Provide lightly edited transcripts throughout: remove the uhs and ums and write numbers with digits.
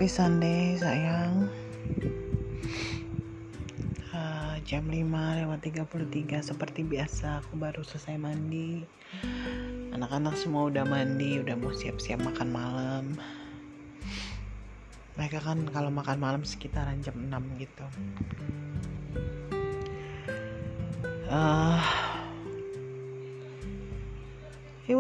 Happy Sunday sayang. Jam 5:33 seperti biasa aku baru selesai mandi. Anak-anak semua udah mandi, udah mau siap-siap makan malam. Mereka kan kalau makan malam sekitaran jam 6 gitu. It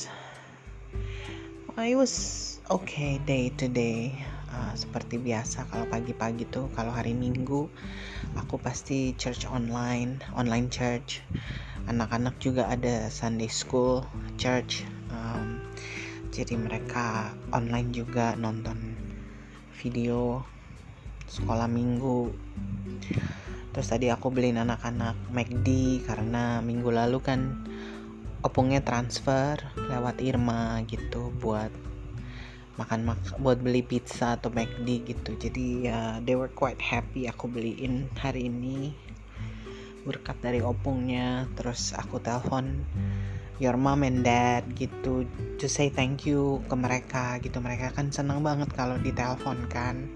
was okay day to day. Seperti biasa kalau pagi-pagi tuh, kalau hari Minggu aku pasti church online church. Anak-anak juga ada Sunday school church. Jadi mereka online juga nonton video sekolah minggu. Terus tadi aku beliin anak-anak McD karena minggu lalu kan opungnya transfer lewat Irma gitu buat buat beli pizza atau McD gitu. Jadi ya they were quite happy aku beliin hari ini berkat dari opungnya. Terus aku telepon your mom and dad gitu to say thank you ke mereka gitu. Mereka kan senang banget kalau ditelepon kan.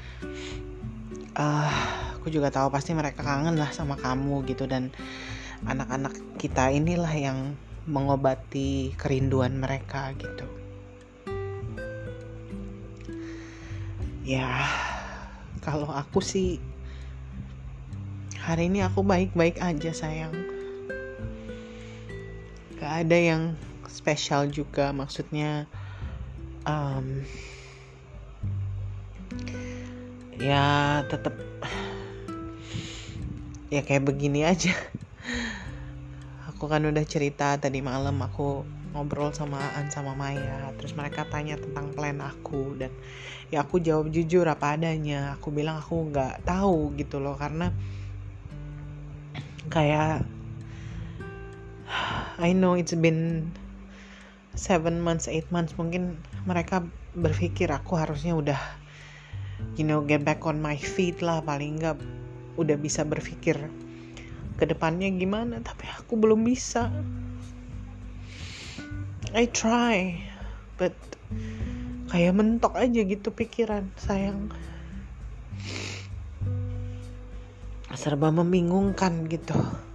Aku juga tahu pasti mereka kangen lah sama kamu gitu, dan anak-anak kita inilah yang mengobati kerinduan mereka gitu. Ya, kalau aku sih hari ini aku baik-baik aja sayang. Gak ada yang spesial juga, maksudnya ya tetap ya kayak begini aja. Aku kan udah cerita tadi malam aku ngobrol sama Aan sama Maya, terus mereka tanya tentang plan aku, dan ya aku jawab jujur apa adanya. Aku bilang aku nggak tahu gitu loh, karena kayak I know it's been 7 months, 8 months, mungkin mereka berpikir aku harusnya udah get back on my feet lah, paling nggak udah bisa berpikir ke depannya gimana, tapi aku belum bisa. I try, but kayak mentok aja gitu pikiran sayang. Serba membingungkan gitu.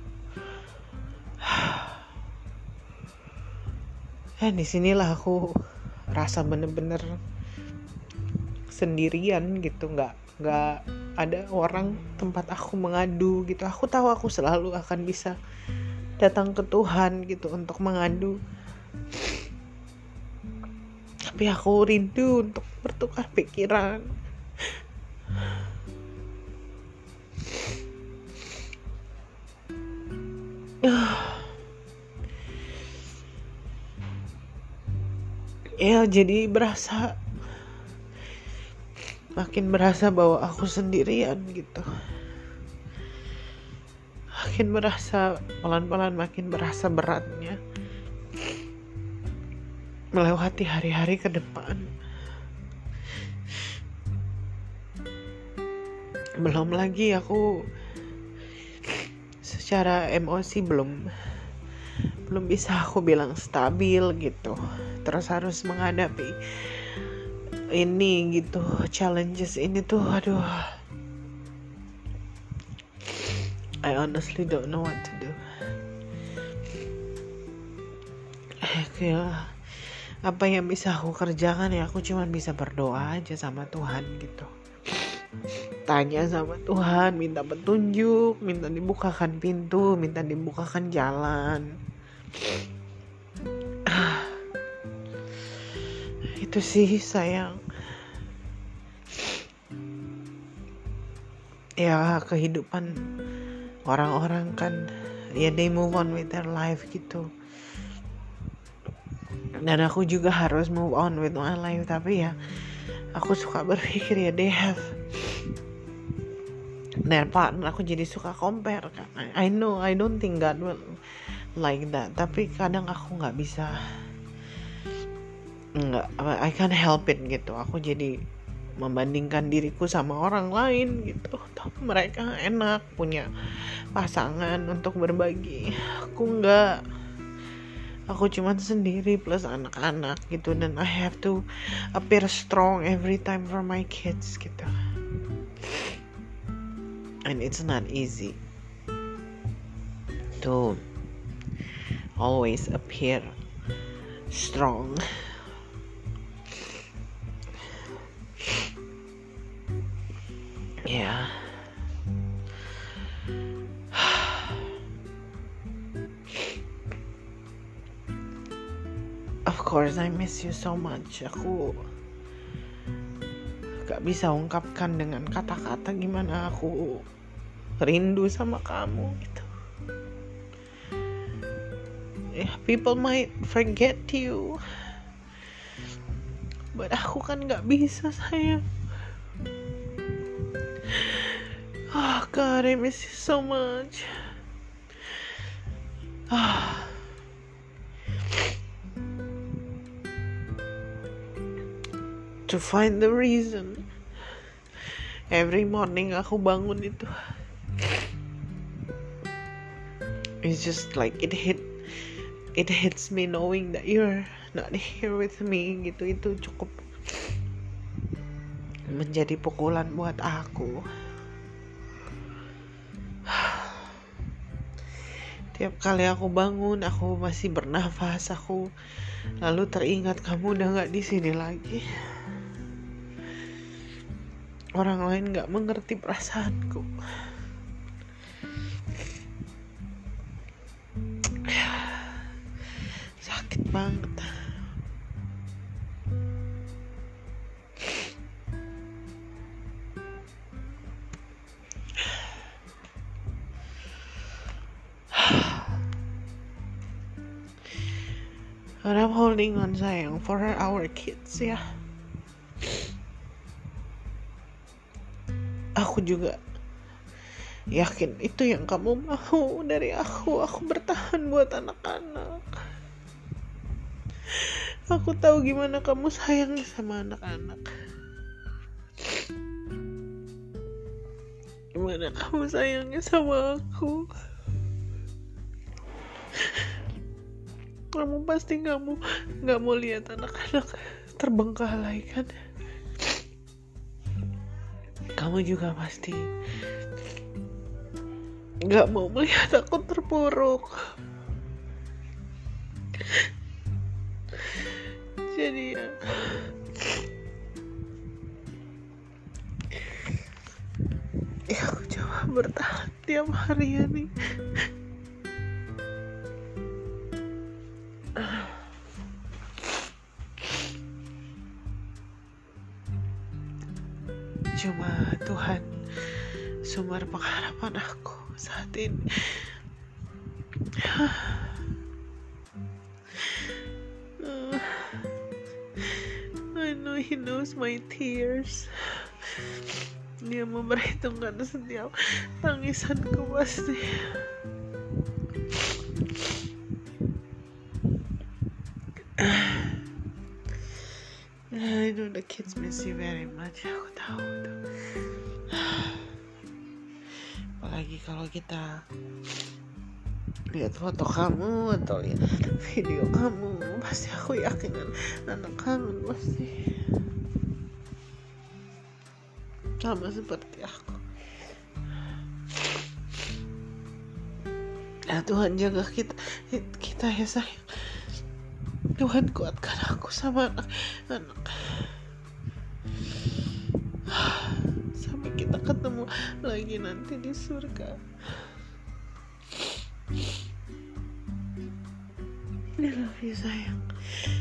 Disinilah aku rasa bener-bener sendirian gitu, nggak ada orang tempat aku mengadu gitu. Aku tahu aku selalu akan bisa datang ke Tuhan gitu untuk mengadu, tapi aku rindu untuk bertukar pikiran. Ya jadi makin berasa bahwa aku sendirian gitu. Makin berasa, pelan-pelan makin berasa beratnya melewati hari-hari ke depan. Belum lagi aku secara emosi belum bisa aku bilang stabil gitu. Terus harus menghadapi ini gitu, challenges ini tuh, aduh, I honestly don't know what to do. Kayak apa yang bisa aku kerjakan ya, aku cuma bisa berdoa aja sama Tuhan gitu. Tanya sama Tuhan, minta petunjuk, minta dibukakan pintu, minta dibukakan jalan. Itu sih sayang. Ya kehidupan orang-orang kan, ya they move on with their life gitu. Dan aku juga harus move on with my life, tapi ya aku suka berpikir ya they have their partner. Aku jadi suka compare kan. I know I don't think God will like that, tapi kadang aku nggak bisa, I can't help it gitu. Aku jadi membandingkan diriku sama orang lain gitu. Tapi mereka enak punya pasangan untuk berbagi, aku enggak. aku cuman sendiri plus anak-anak gitu, dan I have to appear strong every time for my kids gitu, and it's not easy to always appear strong. Yeah. Of course I miss you so much. Aku gak bisa ungkapkan dengan kata-kata gimana aku rindu sama kamu gitu. Yeah, people might forget you, but aku kan gak bisa, sayang. Oh God, I miss you so much. To find the reason every morning aku bangun itu, it's just like it hits me knowing that you're not here with me gitu. Itu cukup menjadi pukulan buat aku. Tiap kali aku bangun, aku masih bernafas, aku lalu teringat kamu udah gak di sini lagi. Orang lain gak mengerti perasaanku. Sakit banget. But I'm holding on, sayang, for our kids ya. Aku juga yakin itu yang kamu mau dari aku. Aku bertahan buat anak-anak. Aku tahu gimana kamu sayang sama anak-anak. Gimana kamu sayangnya sama aku. Kamu pasti gak mau lihat anak-anak terbengkalai kan. Kamu juga pasti gak mau melihat aku terpuruk. Jadi ya aku coba bertahan tiap hari ya nih. Cuma Tuhan sumber pengharapan aku saat ini. I know He knows my tears. Dia memperhitungkan setiap tangisanku pasti. I know the kids miss you very much. Aku tahu itu. Apalagi kalau kita lihat foto kamu atau lihat video kamu, pasti aku yakin anak kangen pasti. Sama seperti aku. Ya Tuhan jaga kita ya sayang. Tuhan kuatkan aku sama anak-anak. Sampai kita ketemu lagi nanti di surga. I love you sayang.